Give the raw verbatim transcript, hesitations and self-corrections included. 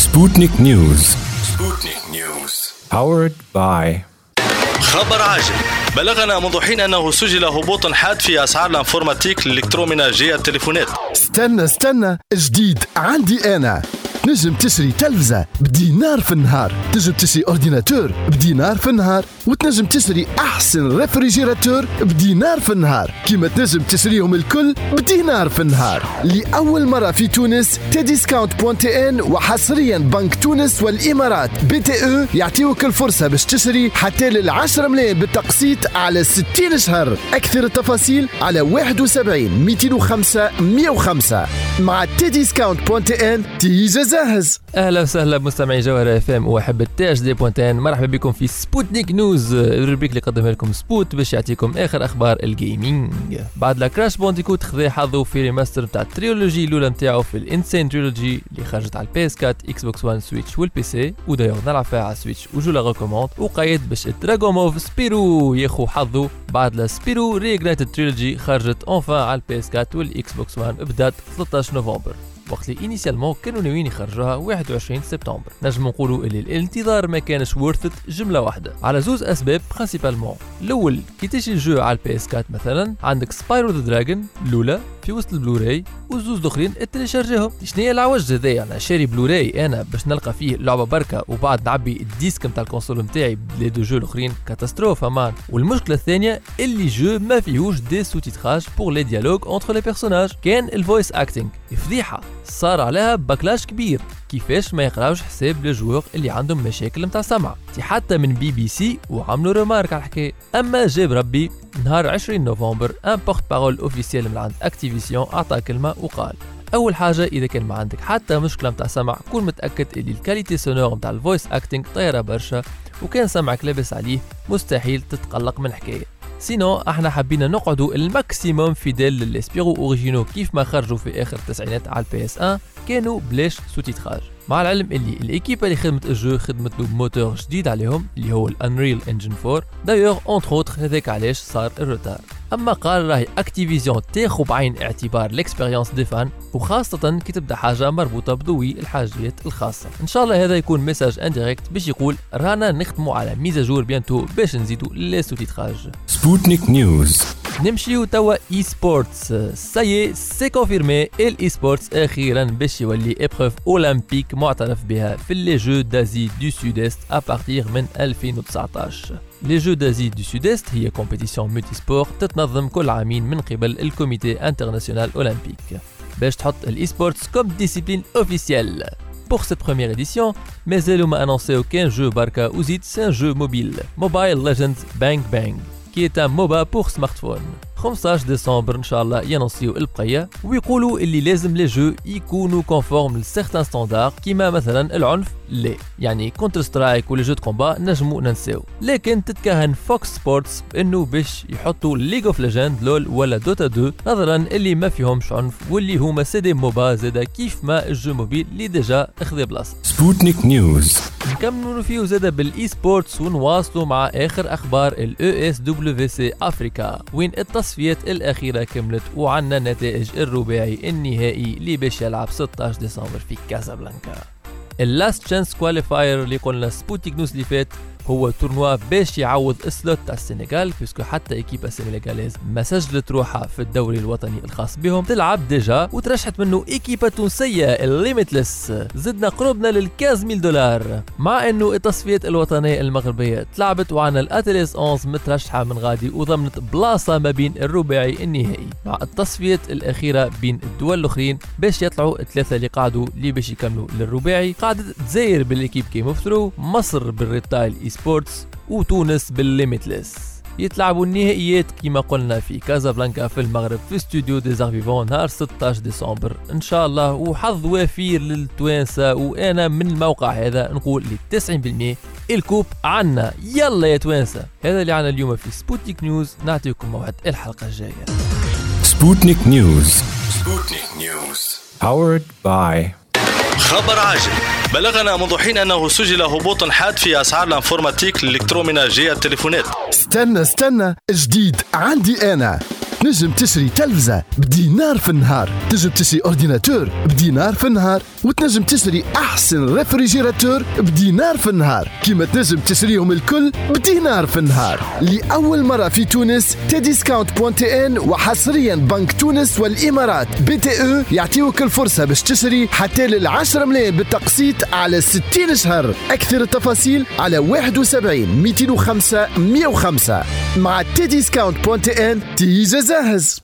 سبوتنيك نيوز. سبوتنيك نيوز powered by. خبر عاجل: بلغنا منذ حين أنه سجل هبوط حاد في أسعار الانفورماتيك الإلكترومناجية التليفونات. استنى استنى جديد عندي أنا. نجم تشري تلفزة بدينار في النهار، تنجم تشري أورديناتور بدينار في النهار، وتنجم تشري أحسن ريفريجيراتور بدينار في النهار، كيما تنجم تشريهم الكل بدينار في النهار. لأول مرة في تونس تديسكاونت بوان تي ان وحصريا بنك تونس والإمارات بي تي او يعطيوك الفرصة باش تشري حتى للعشرة ملايين بالتقسيط على ستين شهر. أكثر التفاصيل على واحد وسبعين مئتين وخمسة مئة وخمسة. مع تديسكاونت بوان تي ان تيجا جاهز. اهلا وسهلا بمستمعي جوهر اف ام واحب تي اش دي بوانتين. مرحبا بكم في سبوتنيك نيوز، الروبريك اللي قدمها لكم سبوت باش يعطيكم اخر اخبار الجيمنج. بعد لا كراش بونديكوت خذا حظه في ريماستر نتاع التريولوجي الاولى نتاعو في الانسين تريولوجي اللي خرجت على البي اس أربعة اكس بوكس واحد سويتش والبي سي، ودايوغ نلعب فيها على سويتش وجو لا ريكوموند. وقايد باش دراغوموف سبيرو ياخو حظه بعد لا سبيرو ريغريتد تريولوجي خرجت اونفا على البي اس أربعة والاكس بوكس واحد بدات ثلاثة عشر نوفمبر، وقت اللي انيسيالمون كانوا ناويين يخرجوها واحد وعشرين سبتمبر. نجم نقولوا اللي الانتظار ما كانش ورثت جمله واحده على زوز اسباب برينسيبالمون. الاول كي تجي الجو على البي اس أربعة مثلا عندك سبايرو ذا دراجون الاولى في وسط البلوراي وزوز الاخرين تريشارجيهم. شنو هي العوج هذايا؟ انا شاري بلوراي انا باش نلقى فيه لعبه بركه وبعد نعبي الديسك نتاع الكونسول نتاعي بلي دو جو الاخرين كاتاستروفه مان. والمشكله الثانيه اللي جو ما فيهوش دي سوتيتراج بور لي ديالوج اونتر لي بيرسوناج، كان الفويس اكتينغ فضيحه صار عليها باكلاش كبير. كيفاش ما يقراوش حساب للجوار اللي عندهم مشاكل نتاع سمع؟ حتى من بي بي سي وعملوا ريمارك على الحكايه. اما جاب ربي نهار عشرين نوفمبر ان بورت بارول اوفيسيال من عند اكتيفيسيون اعطى كلمه وقال: اول حاجه اذا كان ما عندك حتى مشكله نتاع سمع كون متاكد اللي الكاليتي سونور نتاع الفويس اكتينغ طايره برشا، وكان سمعك لابس عليه مستحيل تتقلق من حكايه. سينو احنا حبينا نقعدوا الماكسيموم فيديل للاسبيرو اوريجينو كيف ما خرجوا في اخر التسعينات على البي اس واحد، كانوا بلاش سوتيتراج. مع العلم اللي الايكيب اللي خدمت الجو خدمت له بموتور جديد عليهم اللي هو الانريل انجن أربعة، دايوغ اونتر اوتر هذاك علاش صار الروتار. اما قال راهي اكتيفيزيون تاخذ بعين اعتبار الاكسبيريونس دي فان، وخاصه كي تبدا حاجه مربوطه بذوي الحاجات الخاصه. ان شاء الله هذا يكون ميساج انديريكت باش يقول رانا نخدموا على ميزاجور بيانتو باش نزيدوا لي سوتيتراج. سبوتنيك نيوز. نمشيو توا اي سبورتس. سايي سي كونفيرمي الاي سبورتس اخيرا باش يولي ابروف اولمبيك معترف بها في لي جو دازي دو سود است ابارتيغ من ألفين وتسعطاش. لي جو دازي دو سود است هي كومبيتيسيون ملتي سبور تتنظم كل عامين من قبل الكوميتي انترناسيونال اولمبيك باش تحط الاي سبورتس كوم ديسيبلين اوفيسيال. Pour cette première édition, مازالوا ما annoncé aucun jeu barca ou zid, c'est un jeu mobile, Mobile Legends Bang Bang, qui est un MOBA pour smartphone. خمسة عشر ديسمبر ان شاء الله ينصيو البقيه، ويقولوا اللي لازم لي جو يكونوا كونفورم لسيغتان ستاندار كيما مثلا العنف لا، يعني كونتر سترايك ولا جو دو كومبا نجمو ننساو. لكن تتكهن فوكس سبورتس بانه باش يحطوا ليج اوف ليجند لول ولا دوتا اثنين نظرا اللي ما فيهمش عنف واللي هما سي دي موبا زادا كيف ما الجو موبيل اللي ديجا اخذ بلاصه. سبوتنيك نيوز. نكملوا فيه زادا بالاي سبورتس ونواصلوا مع اخر اخبار الاو اس دبليو سي افريكا، وين التصفيات الاخيره كملت وعنا نتائج الرباعي النهائي اللي باش يلعب ستة عشر ديسمبر في كازابلانكا. اللاست تشانس كواليفاير اللي قلنا سبوتيك نيوز اللي فات هو تورنوا باش يعوض السلوت تاع السنغال، بيسكو حتى ايكيبا سنغاليز ما سجلت روحها في الدوري الوطني الخاص بهم تلعب ديجا، وترشحت منه ايكيبا تونسيه الليميتلس. زدنا قربنا للكاز ميل دولار، مع انه التصفيات الوطنيه المغربيه تلعبت وعنا الاتليس احد عشر مترشحه من غادي وضمنت بلاصه ما بين الرباعي النهائي، مع التصفيات الاخيره بين الدول الاخرين باش يطلعوا الثلاثه اللي قعدوا اللي باش يكملوا للرباعي. قعدت تزاير بالايكيب كيم اوف ثرو، مصر بالريتايل اي سبورتس، وتونس بالليميتلس. يتلعبوا النهائيات كما قلنا في كازابلانكا في المغرب في استوديو دي زارفيفون نهار ستة عشر ديسمبر ان شاء الله، وحظ وافير للتوانسه. وانا من الموقع هذا نقول ل تسعين بالمئة الكوب عنا، يلا يا توانسه. هذا اللي عنا اليوم في سبوتنيك نيوز، نعطيكم موعد الحلقه الجايه. سبوتنيك نيوز. سبوتنيك نيوز powered by. خبر عاجل: بلغنا منذ حين أنه سجل هبوط حاد في أسعار الانفورماتيك الإلكترومناجية التليفونات. استنى استنى جديد عندي أنا. تنجم تشري تلفزة بدينار في النهار، تنجم تشري أورديناتور بدينار في النهار، وتنجم تشتري أحسن ريفريجيراتور بدينار في النهار، كيما تنجم تشريهم الكل بدينار في النهار. لأول مرة في تونس تديسكاونت بوان تي ان وحصريا بنك تونس والإمارات بي تي او يعطيوك الفرصة باش تشتري حتى للعشرة ملايين بالتقسيط على ستين شهر. أكثر التفاصيل على واحد وسبعين مئتين وخمسة مئة وخمسة. مع تديسكاونت بوان تي ان تيجا جاهز.